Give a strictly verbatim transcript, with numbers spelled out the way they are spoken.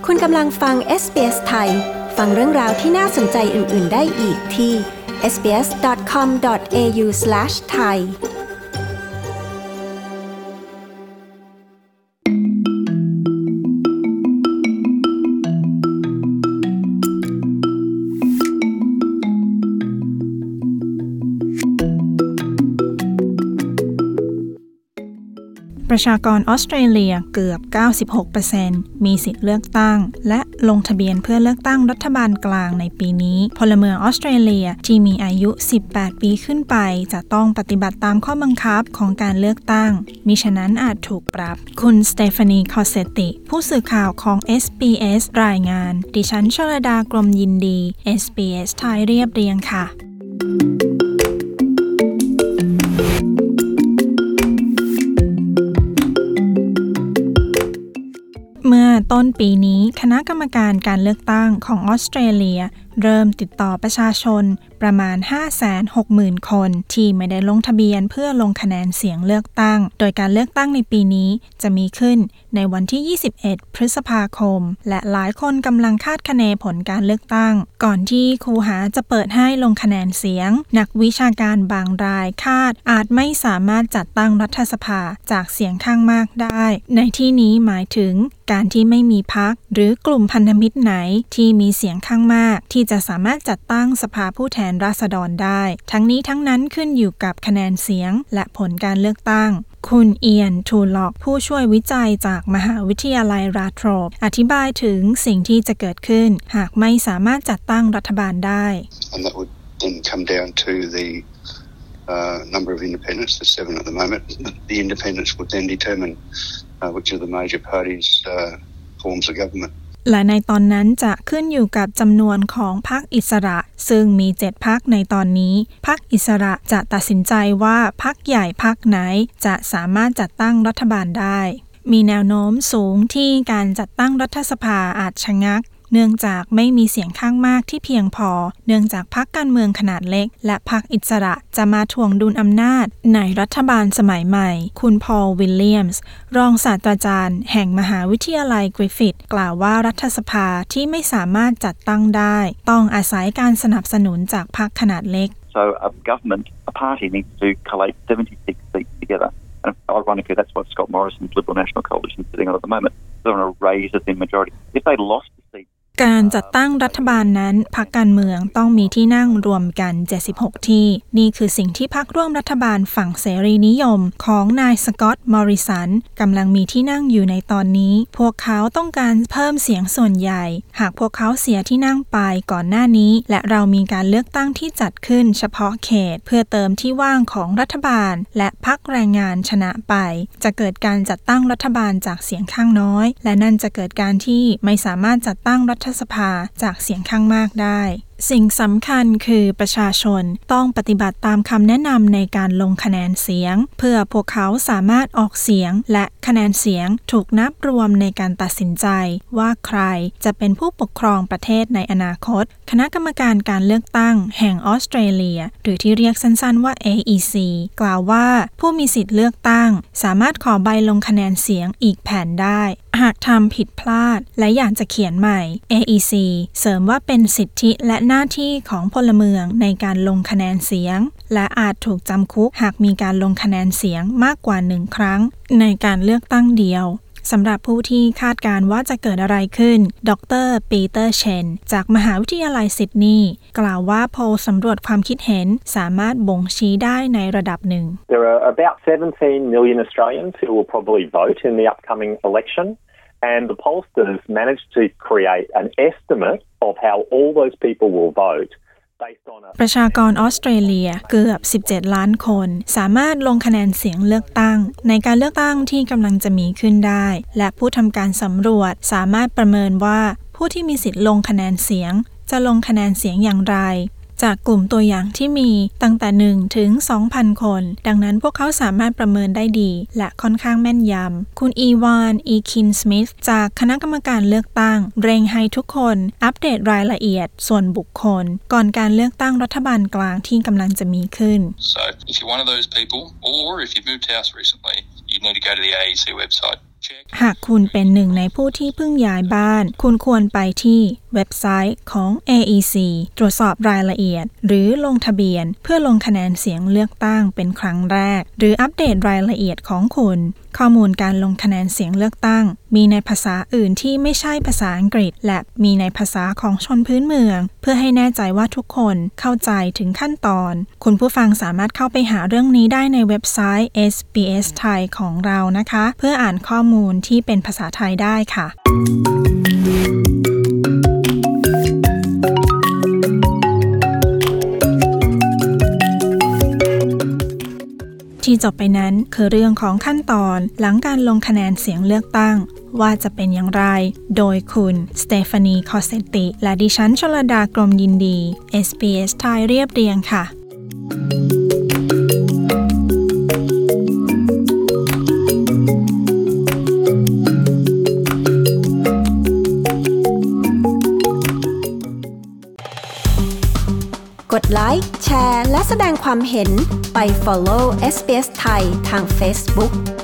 คุณกำลังฟัง เอส บี เอส ไทยฟังเรื่องราวที่น่าสนใจอื่นๆได้อีกที่ เอส บี เอส ดอท คอม ดอท เอ ยู สแลช ไทยประชากรออสเตรเลียเกือบ เก้าสิบหกเปอร์เซ็นต์ มีสิทธิ์เลือกตั้งและลงทะเบียนเพื่อเลือกตั้งรัฐบาลกลางในปีนี้พลเมืองออสเตรเลียที่มีอายุสิบแปดปีขึ้นไปจะต้องปฏิบัติตามข้อบังคับของการเลือกตั้งมิฉะนั้นอาจถูกปรับคุณสเตฟานีคอสเซตติผู้สื่อข่าวของ เอส บี เอส รายงานดิฉันชลดากรมยินดี เอส บี เอส ไทยเรียบเรียงค่ะเมื่อต้นปีนี้คณะกรรมการการเลือกตั้งของออสเตรเลียเริ่มติดต่อประชาชนประมาณ ห้าแสนหกหมื่น คนที่ไม่ได้ลงทะเบียนเพื่อลงคะแนนเสียงเลือกตั้งโดยการเลือกตั้งในปีนี้จะมีขึ้นในวันที่ยี่สิบเอ็ดพฤษภาคมและหลายคนกำลังคาดคะเนผลการเลือกตั้งก่อนที่คูหาจะเปิดให้ลงคะแนนเสียงนักวิชาการบางรายคาดอาจไม่สามารถจัดตั้งรัฐสภาจากเสียงข้างมากได้ในที่นี้หมายถึงการที่ไม่มีพรรคหรือกลุ่มพันธมิตรไหนที่มีเสียงข้างมากที่จะสามารถจัดตั้งสภาผู้แทนราษฎรได้ทั้งนี้ทั้งนั้นขึ้นอยู่กับคะแนนเสียงและผลการเลือกตั้งคุณเอียนทูล็อกผู้ช่วยวิจัยจากมหาวิทยาลัยราโทรปอธิบายถึงสิ่งที่จะเกิดขึ้นหากไม่สามารถจัดตั้งรัฐบาลได้ And that would then come down to the uh, number of independents, there's seven at the moment. The independents would then determine uh, which of the major parties uh, forms the government. และในตอนนั้นจะขึ้นอยู่กับจำนวนของพรรคอิสระซึ่งมีเจ็ดพรรคในตอนนี้พรรคอิสระจะตัดสินใจว่าพรรคใหญ่พรรคไหนจะสามารถจัดตั้งรัฐบาลได้มีแนวโน้มสูงที่การจัดตั้งรัฐสภาอาจชะงักเนื่องจากไม่มีเสียงข้างมากที่เพียงพอเนื่องจากพรรคการเมืองขนาดเล็กและพรรคอิสระจะมาถ่วงดุลอำนาจในรัฐบาลสมัยใหม่คุณพอลวิลเลียมส์รองศาสตราจารย์แห่งมหาวิทยาลัยกริฟฟิธกล่าวว่ารัฐสภาที่ไม่สามารถจัดตั้งได้ต้องอาศัยการสนับสนุนจากพรรคขนาดเล็ก So a government, a party needs to collate seventy-six seats together. And ironically, that's what Scott Morrison's Liberal National Coalition is sitting on at the moment. They're on a raise of their majority. If they lost the seat, การจัดตั้งรัฐบาลนั้นพรรคการเมืองต้องมีที่นั่งรวมกันเจ็ดสิบหกที่นี่คือสิ่งที่พรรคร่วมรัฐบาลฝั่งเสรีนิยมของนายสก็อตต์มอริสันกำลังมีที่นั่งอยู่ในตอนนี้พวกเขาต้องการเพิ่มเสียงส่วนใหญ่หากพวกเขาเสียที่นั่งไปก่อนหน้านี้และเรามีการเลือกตั้งที่จัดขึ้นเฉพาะเขตเพื่อเติมที่ว่างของรัฐบาลและพรรคแรงงานชนะไปจะเกิดการจัดตั้งรัฐบาลจากเสียงข้างน้อยและนั่นจะเกิดการที่ไม่สามารถจัดตั้งรัฐสภาจากเสียงข้างมากได้สิ่งสำคัญคือประชาชนต้องปฏิบัติตามคำแนะนำในการลงคะแนนเสียงเพื่อพวกเขาสามารถออกเสียงและคะแนนเสียงถูกนับรวมในการตัดสินใจว่าใครจะเป็นผู้ปกครองประเทศในอนาคตคณะกรรมการการเลือกตั้งแห่งออสเตรเลียหรือที่เรียกสั้นๆว่า เอ อี ซี กล่าวว่าผู้มีสิทธิ์เลือกตั้งสามารถขอใบลงคะแนนเสียงอีกแผ่นได้หากทำผิดพลาดและอยากจะเขียนใหม่ เอ อี ซี เสริมว่าเป็นสิทธิและหน้าที่ของพลเมืองในการลงคะแนนเสียงและอาจถูกจำคุกหากมีการลงคะแนนเสียงมากกว่าหนึ่งครั้งในการเลือกตั้งเดียวสำหรับผู้ที่คาดการณ์ว่าจะเกิดอะไรขึ้นดร.ปีเตอร์เชนจากมหาวิทยาลัยซิดนีย์กล่าวว่าโพลสำรวจความคิดเห็นสามารถบ่งชี้ได้ในระดับหนึ่ง There are about seventeen million Australians who will probably vote in the upcoming election.And the pollsters managed to create an estimate of how all those people will vote based on a ประชากรออสเตรเลียเกือบสิบเจ็ดล้านคนสามารถลงคะแนนเสียงเลือกตั้งในการเลือกตั้งที่กำลังจะมีขึ้นได้และผู้ทำการสำรวจสามารถประเมินว่าผู้ที่มีสิทธิ์ลงคะแนนเสียงจะลงคะแนนเสียงอย่างไรจากกลุ่มตัวอย่างที่มีตั้งแต่หนึ่งถึง สองพัน คนดังนั้นพวกเขาสามารถประเมินได้ดีและค่อนข้างแม่นยำคุณอีวานอีคินสมิธจากคณะกรรมการเลือกตั้งเร่งให้ทุกคนอัปเดตรายละเอียดส่วนบุคคลก่อนการเลือกตั้งรัฐบาลกลางที่กำลังจะมีขึ้น So if you're one of those people or if you've moved house recently you need to go to the เอ อี ซี website หากคุณเป็นหนึ่งในผู้ที่เพิ่งย้ายบ้านคุณควรไปที่เว็บไซต์ของ เอ อี ซี ตรวจสอบรายละเอียดหรือลงทะเบียนเพื่อลงคะแนนเสียงเลือกตั้งเป็นครั้งแรกหรืออัปเดตรายละเอียดของคุณข้อมูลการลงคะแนนเสียงเลือกตั้งมีในภาษาอื่นที่ไม่ใช่ภาษาอังกฤษและมีในภาษาของชนพื้นเมืองเพื่อให้แน่ใจว่าทุกคนเข้าใจถึงขั้นตอนคุณผู้ฟังสามารถเข้าไปหาเรื่องนี้ได้ในเว็บไซต์ เอส บี เอส ไทยของเรานะคะเพื่ออ่านข้อมูลที่เป็นภาษาไทยได้ค่ะที่จบไปนั้นคือเรื่องของขั้นตอนหลังการลงคะแนนเสียงเลือกตั้งว่าจะเป็นอย่างไรโดยคุณสเตฟานีคอสเซตติและดิฉันชลดากรมยินดี เอส บี เอส ไทยเรียบเรียงค่ะกดไลค์แชร์และแสดงความเห็นไป follow เอส บี เอส ไทยทาง Facebook